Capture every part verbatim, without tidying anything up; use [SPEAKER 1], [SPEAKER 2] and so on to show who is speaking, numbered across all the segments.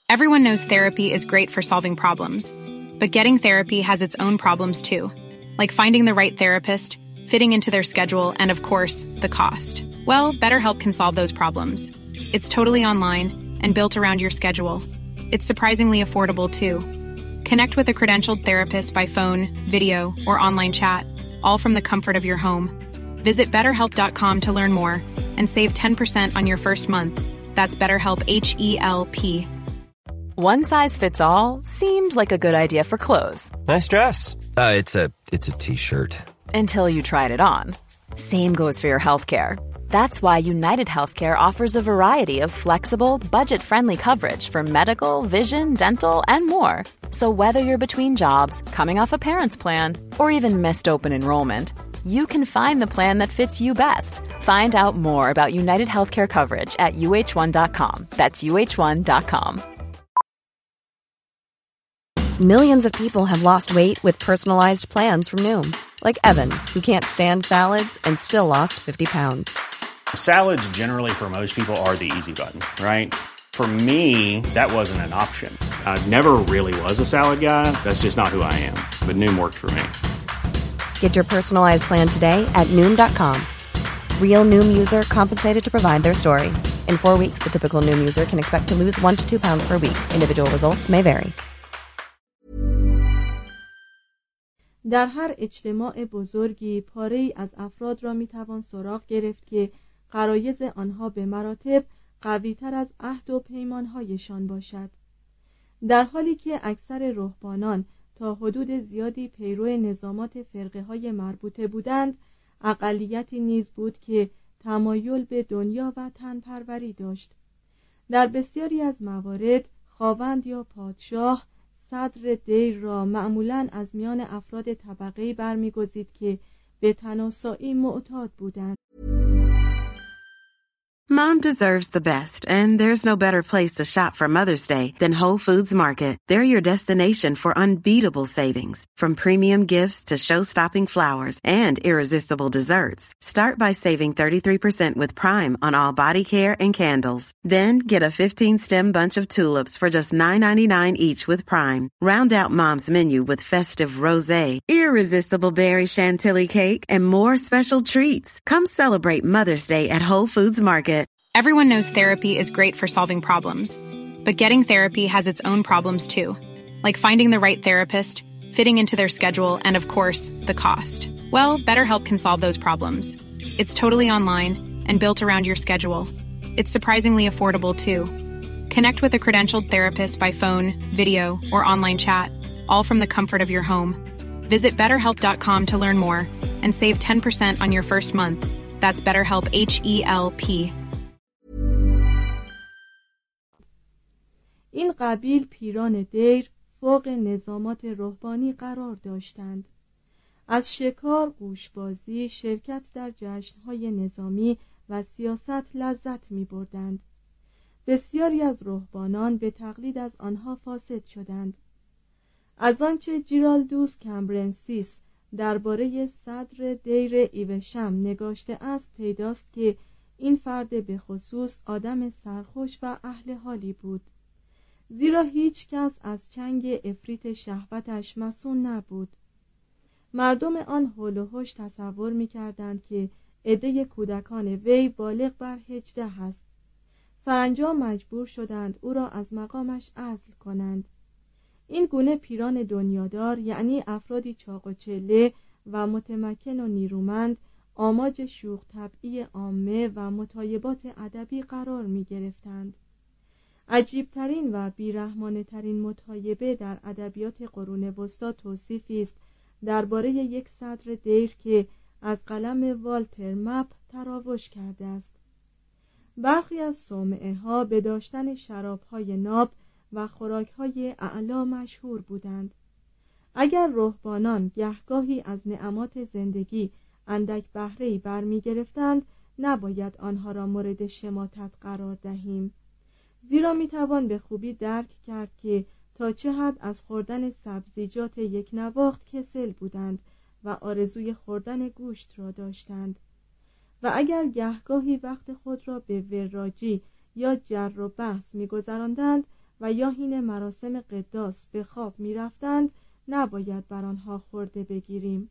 [SPEAKER 1] Everyone knows therapy is great for solving problems, but getting therapy has its own problems too, like finding the right therapist, fitting into their schedule, and of course, the cost. Well, BetterHelp can solve those problems. It's totally online and built around your schedule. It's surprisingly affordable too. Connect with a credentialed therapist by phone, video, or online chat, all from the comfort of your home. Visit better help dot com to learn more and save ten percent on your first month. That's BetterHelp, H E L P.
[SPEAKER 2] One size fits all seemed like a good idea for clothes.
[SPEAKER 3] Nice dress. Uh, it's a it's a t-shirt.
[SPEAKER 2] Until you tried it on. Same goes for your healthcare. That's why United Healthcare offers a variety of flexible, budget-friendly coverage for medical, vision, dental, and more. So whether you're between jobs, coming off a parent's plan, or even missed open enrollment, you can find the plan that fits you best. Find out more about United Healthcare coverage at U H one dot com. That's U H one dot com.
[SPEAKER 4] Millions of people have lost weight with personalized plans from Noom. Like Evan, who can't stand salads and still lost fifty pounds.
[SPEAKER 5] Salads generally for most people are the easy button, right? For me, that wasn't an option. I never really was a salad guy. That's just not who I am. But Noom worked for me.
[SPEAKER 4] Get your personalized plan today at Noom dot com. Real Noom user compensated to provide their story. In four weeks, the typical Noom user can expect to lose one to two pounds per week. Individual results may vary.
[SPEAKER 6] در هر اجتماع بزرگی پاره‌ای از افراد را میتوان سراغ گرفت که غرایز آنها به مراتب قوی‌تر از عهد و پیمان‌هایشان باشد، در حالی که اکثر رهبانان تا حدود زیادی پیرو نظامات فرقه‌های مربوطه بودند، اقلیتی نیز بود که تمایل به دنیا و تن‌پروری داشت. در بسیاری از موارد خاوند یا پادشاه صدر دیر را معمولاً از میان افراد طبقه‌ای برمی‌گزید که به تناسایی معتاد بودند.
[SPEAKER 7] Mom deserves the best, and there's no better place to shop for Mother's Day than Whole Foods Market. They're your destination for unbeatable savings, from premium gifts to show-stopping flowers and irresistible desserts. Start by saving thirty-three percent with Prime on all body care and candles. Then get a fifteen-stem bunch of tulips for just nine ninety-nine each with Prime. Round out Mom's menu with festive rosé, irresistible berry chantilly cake, and more special treats. Come celebrate Mother's Day at Whole Foods Market.
[SPEAKER 1] Everyone knows therapy is great for solving problems, but getting therapy has its own problems too, like finding the right therapist, fitting into their schedule, and of course, the cost. Well, BetterHelp can solve those problems. It's totally online and built around your schedule. It's surprisingly affordable too. Connect with a credentialed therapist by phone, video, or online chat, all from the comfort of your home. Visit better help dot com to learn more and save ten percent on your first month. That's BetterHelp, H E L P.
[SPEAKER 6] این قبیل پیران دیر فوق نظامات رهبانی قرار داشتند. از شکار، گوشبازی، شرکت در جشن‌های نظامی و سیاست لذت می‌بردند. بسیاری از رهبانان به تقلید از آنها فاسد شدند. از آنچه جیرالدوس کمبرنسیس درباره صدر دیر ایوشم نگاشته است پیداست که این فرد به خصوص آدم سرخوش و اهل حالی بود، زیرا هیچ کس از چنگ افریط شهوتش مصون نبود. مردم آن حول و حوش تصور می کردند که عده کودکان وی بالغ بر هجده است. سرانجام مجبور شدند او را از مقامش عزل کنند. این گونه پیران دنیادار، یعنی افرادی چاق و چله و متمکن و نیرومند، آماج شوخ طبعی عامه و مطایبات ادبی قرار می گرفتند. عجیبترین و بیرحمانه‌ترین مطایبه در ادبیات قرون وسطی توصیفی است درباره یک صدر دیر که از قلم والتر مپ تراوش کرده است. برخی از صومعه‌ها به داشتن شراب‌های ناب و خوراک‌های اعلا مشهور بودند. اگر رهبانان گهگاهی از نعمات زندگی اندک بهره‌ای برمی‌گرفتند، نباید آنها را مورد شماتت قرار دهیم، زیرا میتوان به خوبی درک کرد که تا چه حد از خوردن سبزیجات یک نواخت کسل بودند و آرزوی خوردن گوشت را داشتند، و اگر گهگاهی وقت خود را به وراجی یا جر و بحث می‌گذراندند، و یا حین مراسم قداس به خواب می رفتند نباید بر آنها خورده بگیریم.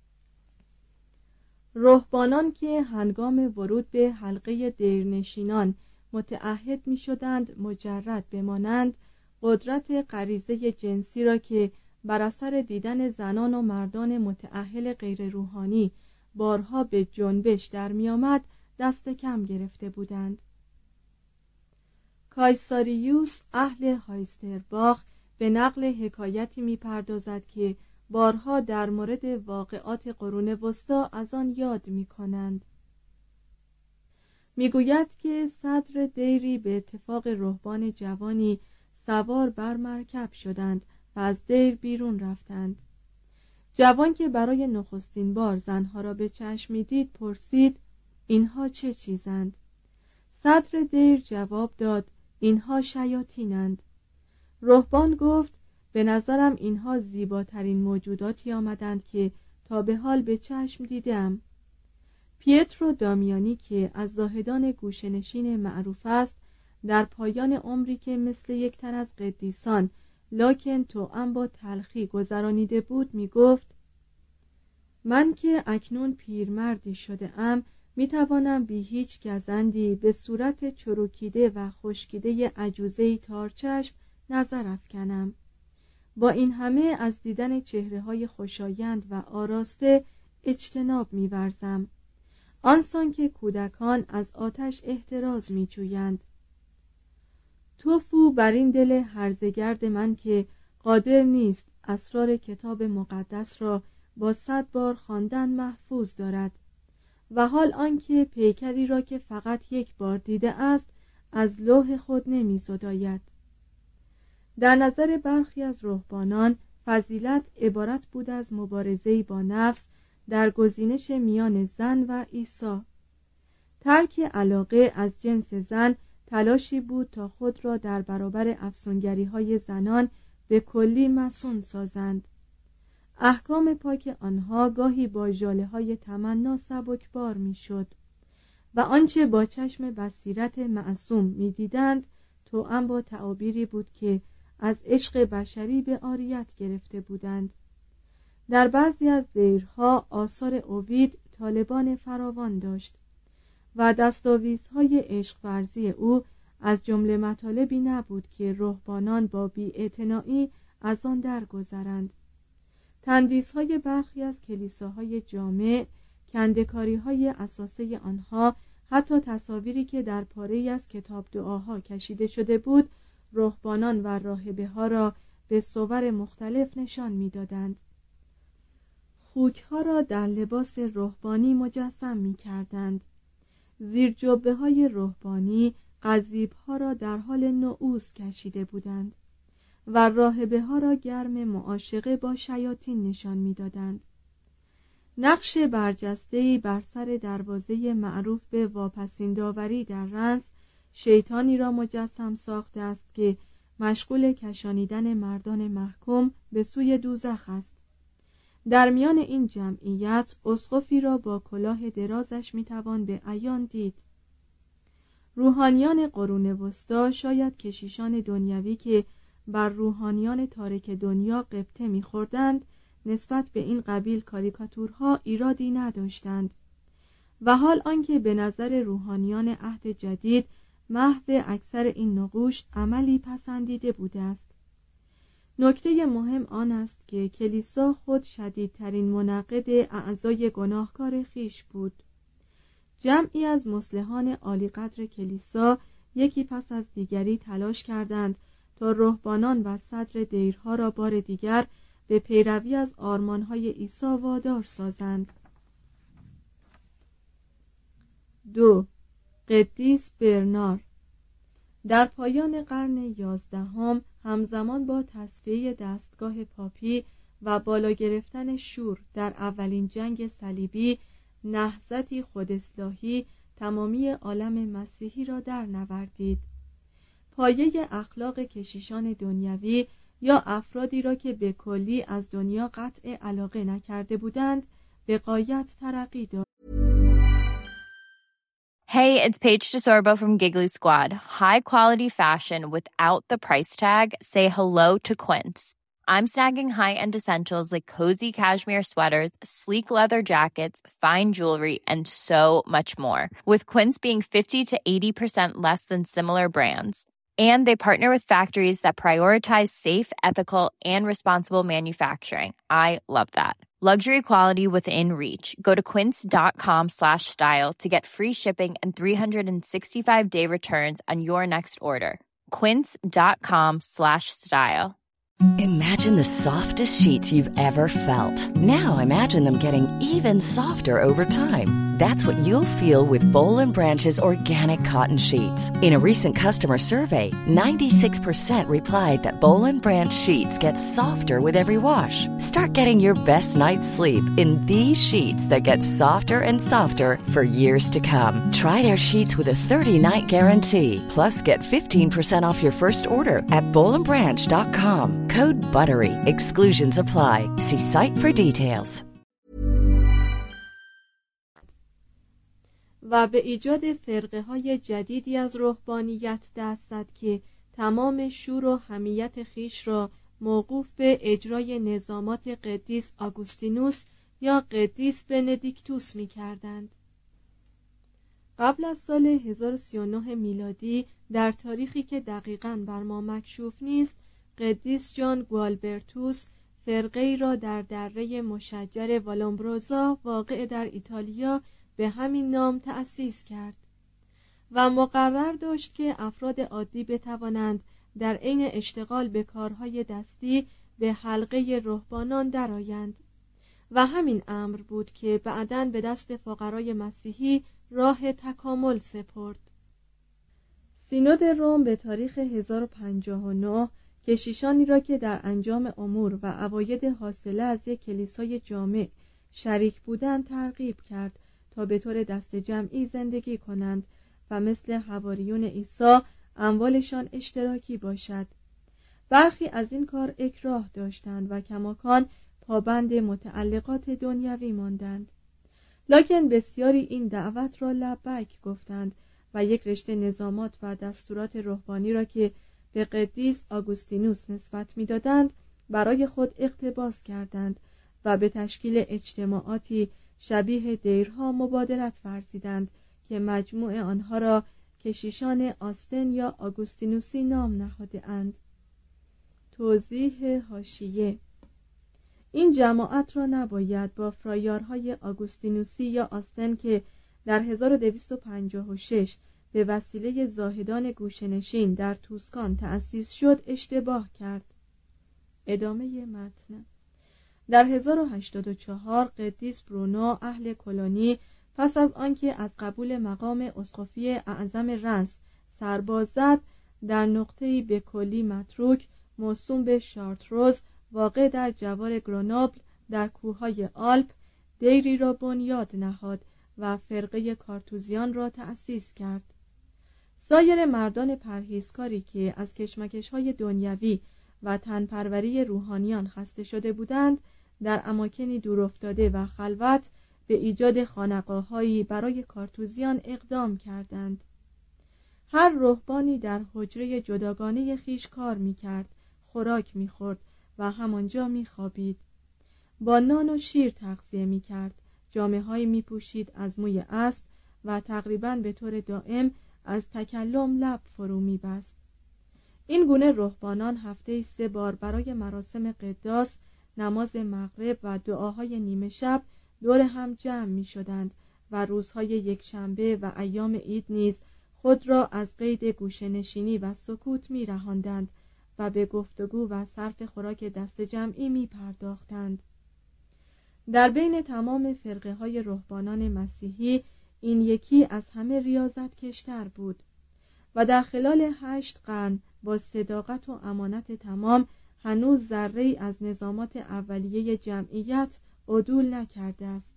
[SPEAKER 6] رهبانان که هنگام ورود به حلقه دیرنشینان متعهد می شدند مجرد بمانند، قدرت غریزه جنسی را که بر اثر دیدن زنان و مردان متأهل غیر روحانی بارها به جنبش در می آمد دست کم گرفته بودند. کایساریوس اهل هایسترباخ به نقل حکایتی می پردازد که بارها در مورد واقعات قرون وسطی از آن یاد می کنند. می گوید که صدر دیری به اتفاق رهبان جوانی سوار بر مرکب شدند و از دیر بیرون رفتند. جوان که برای نخستین بار زنها را به چشم می دید پرسید اینها چه چیزند؟ صدر دیر جواب داد اینها شیاطینند. رهبان گفت به نظرم اینها زیباترین موجوداتی آمدند که تا به حال به چشم دیدم. پیترو دامیانی که از زاهدان گوشه‌نشین معروف است، در پایان عمری که مثل یک تن از قدیسان لکن توأم با تلخی گذرانیده بود می گفت من که اکنون پیرمردی شده ام می توانم بی هیچ گزندی به صورت چروکیده و خشکیده عجوزه‌ای تارچشم نظر افکنم. با این همه از دیدن چهره‌های خوشایند و آراسته اجتناب می‌ورزم، آنسان که کودکان از آتش احتراز می‌جویند. توفو بر این دل هرزگرد من که قادر نیست اسرار کتاب مقدس را با صد بار خواندن محفوظ دارد و حال آنکه پیکری را که فقط یک بار دیده است از لوح خود نمی‌زداید. در نظر برخی از رهبانان فضیلت عبارت بود از مبارزه‌ای با نفس در گزینش میان زن و عیسی. ترک علاقه از جنس زن تلاشی بود تا خود را در برابر افسونگری‌های زنان به کلی مصون سازند. احکام پاک آنها گاهی با ژاله‌های تمنا سبکبار می‌شد و آنچه با چشم بصیرت معصوم می‌دیدند توأم با تعابیری بود که از عشق بشری به عاریت گرفته بودند. در بعضی از دیرها آثار اوید طالبان فراوان داشت و دستاویزهای عشق ورزی او از جمله مطالبی نبود که رهبانان با بی‌اعتنایی از آن درگذرند. تندیس‌های برخی از کلیساهای جامع، کنده‌کاری‌های اساسه آنها، حتی تصاویری که در پاره‌ای از کتاب دعاها کشیده شده بود، رهبانان و راهبه‌ها را به صور مختلف نشان می‌دادند. خوک‌ها را در لباس رهبانی مجسم می‌کردند. زیر جبهه‌های رهبانی قضیب‌ها را در حال نعوذ کشیده بودند و راهبه‌ها را گرم معاشقه با شیاطین نشان می‌دادند. نقش برجسته‌ای بر سر دروازه معروف به واپسین داوری در رنس شیطانی را مجسم ساخته است که مشغول کشانیدن مردان محکوم به سوی دوزخ است. در میان این جمعیت اسقفی را با کلاه درازش میتوان به عیان دید. روحانیان قرون وسطی شاید کشیشان دنیوی که بر روحانیان تارک دنیا غبطه می‌خوردند نسبت به این قبیل کاریکاتورها ایرادی نداشتند و حال آنکه به نظر روحانیان عهد جدید محو اکثر این نقوش عملی پسندیده بوده است. نکته مهم آن است که کلیسا خود شدیدترین منقد اعضای گناهکار خیش بود. جمعی از مصلحان عالیقدر کلیسا یکی پس از دیگری تلاش کردند تا رهبانان و صدر دیرها را بار دیگر به پیروی از آرمانهای عیسی وادار سازند. دو قدیس برنار در پایان قرن یازدهم همزمان با تصفیه دستگاه پاپی و بالا گرفتن شور در اولین جنگ صلیبی، نهضتی خوداصلاحی تمامی عالم مسیحی را در نوردید. پایه اخلاق کشیشان دنیوی یا افرادی را که به کلی از دنیا قطع علاقه نکرده بودند به غایت ترقی داد.
[SPEAKER 8] Hey, it's Paige DeSorbo from Giggly Squad. High quality fashion without the price tag. Say hello to Quince. I'm snagging high-end essentials like cozy cashmere sweaters, sleek leather jackets, fine jewelry, and so much more. With Quince being fifty to eighty percent less than similar brands. And they partner with factories that prioritize safe, ethical, and responsible manufacturing. I love that. Luxury quality within reach. Go to quince.com slash style to get free shipping and three sixty-five day returns on your next order. Quince.com slash style.
[SPEAKER 9] Imagine the softest sheets you've ever felt. Now imagine them getting even softer over time. That's what you'll feel with Boll and Branch's organic cotton sheets. In a recent customer survey, ninety-six percent replied that Boll and Branch sheets get softer with every wash. Start getting your best night's sleep in these sheets that get softer and softer for years to come. Try their sheets with a thirty-night guarantee. Plus, get fifteen percent off your first order at boll and branch dot com. Code BUTTERY. Exclusions apply. See site for details.
[SPEAKER 6] و به ایجاد فرقه های جدیدی از رهبانیت دست زد که تمام شور و حمیت خیش را موقوف به اجرای نظامات قدیس آگوستینوس یا قدیس بندیکتوس می کردند. قبل از سال هزار و سی و نه میلادی در تاریخی که دقیقاً بر ما مکشوف نیست، قدیس جان گوالبرتوس فرقه‌ای را در دره مشجر والومبروزا واقع در ایتالیا به همین نام تأسیس کرد و مقرر داشت که افراد عادی بتوانند در عین اشتغال به کارهای دستی به حلقه رهبانان درآیند و همین امر بود که بعداً به دست فقرای مسیحی راه تکامل سپرد. سینود روم به تاریخ هزار و پنجاه و نه کشیشانی را که در انجام امور و عواید حاصله از یک کلیسای جامع شریک بودند ترغیب کرد تا به طور دست جمعی زندگی کنند و مثل حواریون عیسی اموالشان اشتراکی باشد. برخی از این کار اکراه داشتند و کماکان پابند متعلقات دنیوی ماندند، لکن بسیاری این دعوت را لبیک گفتند و یک رشته نظامات و دستورات روحانی را که به قدیس آگوستینوس نسبت می‌دادند برای خود اقتباس کردند و به تشکیل اجتماعاتی شبیه دیرها مبادرت ورزیدند که مجموع آنها را کشیشان آستن یا آگوستینوسی نام نهاده اند. توضیح حاشیه: این جماعت را نباید با فرایارهای آگوستینوسی یا آستن که در هزار و دویست و پنجاه و شش به وسیله زاهدان گوشه‌نشین در توسکان تأسیس شد اشتباه کرد. ادامه متن. در هزار و هشتاد و چهار قدیس برونو اهل کلونی پس از آنکه از قبول مقام اسقفی اعظم رنس سرباز زد، در نقطه‌ای به کلی متروک موسوم به شارتروز واقع در جوار گرونوبل در کوههای آلپ دیری را بنیاد نهاد و فرقه کارتوزیان را تأسیس کرد. سایر مردان پرهیزکاری که از کشمکش‌های دنیوی و تنپروری روحانیان خسته شده بودند، در اماکنی دورافتاده و خلوت به ایجاد خانقاه‌هایی برای کارتوزیان اقدام کردند. هر رهبانی در حجره جداگانه خیش کار می‌کرد، خوراک می‌خورد و همانجا می‌خوابید. با نان و شیر تغذیه می‌کرد، جامه‌هایی می‌پوشید از موی اسب و تقریباً به طور دائم از تکلم لب فرو می‌بست. این گونه رهبانان هفته‌ای سه بار برای مراسم قداس، نماز مغرب و دعاهای نیمه شب دور هم جمع می‌شدند و روزهای یکشنبه و ایام عید نیز خود را از قید گوشه‌نشینی و سکوت می‌رهاندند و به گفتگو و صرف خوراک دست جمعی می‌پرداختند. در بین تمام فرقه‌های رهبانان مسیحی این یکی از همه ریاضت کشتر بود و در خلال هشت قرن با صداقت و امانت تمام هنوز ذره‌ای از نظامات اولیه جمعیت عدول نکرده است.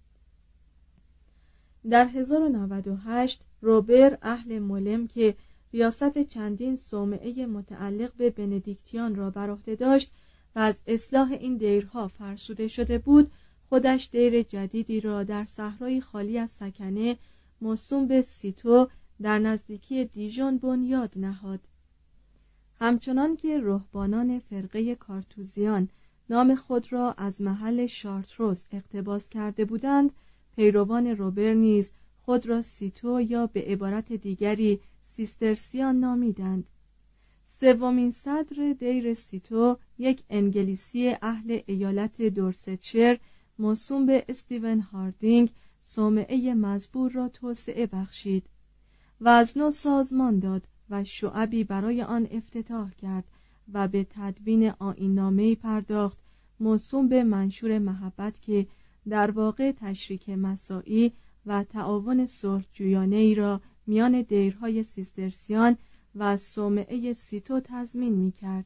[SPEAKER 6] در هزار و نود و هشت روبر اهل مولم که ریاست چندین صومعه متعلق به بندیکتیان را بر عهده داشت و از اصلاح این دیرها فرسوده شده بود، خودش دیر جدیدی را در صحرای خالی از سکنه موسوم به سیتو در نزدیکی دیژون بنیاد نهاد. همچنان که رهبانان فرقه کارتوزیان نام خود را از محل شارتروز اقتباس کرده بودند، پیروان روبر نیز خود را سیتو یا به عبارت دیگری سیسترسیان نامیدند. سومین صدر دیر سیتو یک انگلیسی اهل ایالت دورستشیر موسوم به استیون هاردینگ صومعه مزبور را توسعه بخشید و از نو سازمان داد و شعبی برای آن افتتاح کرد و به تدوین آیین‌نامه‌ای پرداخت موسوم به منشور محبت که در واقع تشریک مساعی و تعاون صلح‌جویانه‌ای را میان دیرهای سیسترسیان و صومعه سیتو تضمین می‌کرد.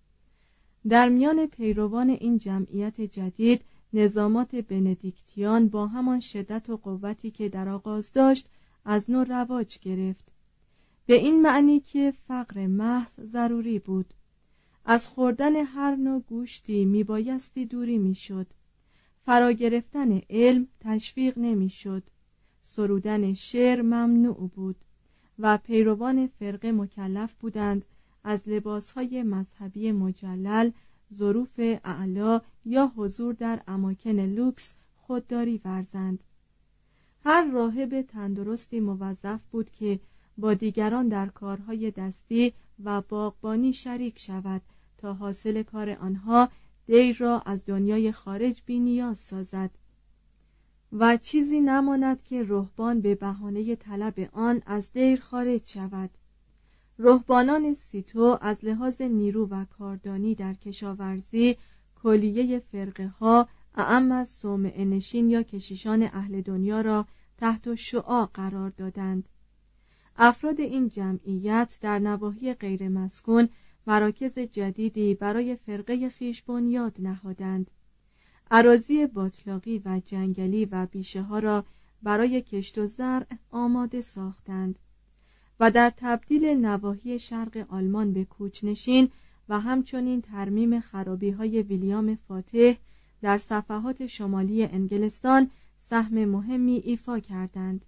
[SPEAKER 6] در میان پیروان این جمعیت جدید نظامات بندیکتیان با همان شدت و قوتی که در آغاز داشت از نو رواج گرفت، به این معنی که فقر محض ضروری بود. از خوردن هر نوع گوشتی میبایستی دوری میشد. فرا گرفتن علم تشویق نمیشد. سرودن شعر ممنوع بود و پیروان فرقه مکلف بودند از لباسهای مذهبی مجلل، ظروف اعلا یا حضور در اماکن لوکس خودداری ورزند. هر راهب تندرستی موظف بود که با دیگران در کارهای دستی و باغبانی شریک شود تا حاصل کار آنها دیر را از دنیای خارج بی نیاز سازد و چیزی نماند که رهبان به بهانه طلب آن از دیر خارج شود. رهبانان سیتو از لحاظ نیرو و کاردانی در کشاورزی کلیه فرقه ها اعم از صومعه نشین یا کشیشان اهل دنیا را تحت شعاع قرار دادند. افراد این جمعیت در نواحی غیر مسکون مراکز جدیدی برای فرقه خویش بنیاد نهادند. اراضی باتلاقی و جنگلی و بیشه ها را برای کشت و زرع آماده ساختند و در تبدیل نواحی شرق آلمان به کوچنشین و همچنین ترمیم خرابی های ویلیام فاتح در صفحات شمالی انگلستان سهم مهمی ایفا کردند.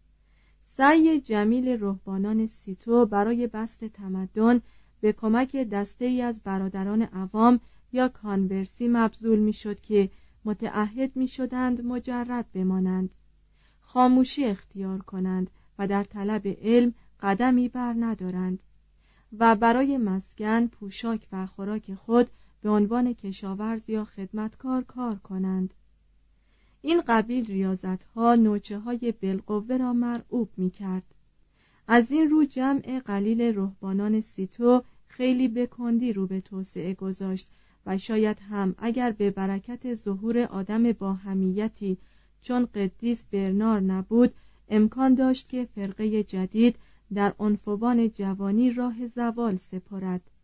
[SPEAKER 6] سعی جمیل رهبانان سیتو برای بسط تمدن به کمک دسته‌ای از برادران عوام یا کانورسی مبذول می‌شد که متعهد می‌شدند مجرد بمانند، خاموشی اختیار کنند و در طلب علم قدمی بر ندارند و برای مسکن، پوشاک و خوراک خود به عنوان کشاورز یا خدمتکار کار کنند. این قبیل ریاضت‌ها نوچه‌های بالقوه را مرعوب می‌کرد. از این رو جمع قلیل رهبانان سیتو خیلی به کندی رو به توسعه گذاشت و شاید هم اگر به برکت ظهور آدم با حمیتی چون قدیس برنار نبود، امکان داشت که فرقه جدید در عنفوان جوانی راه زوال سپارد.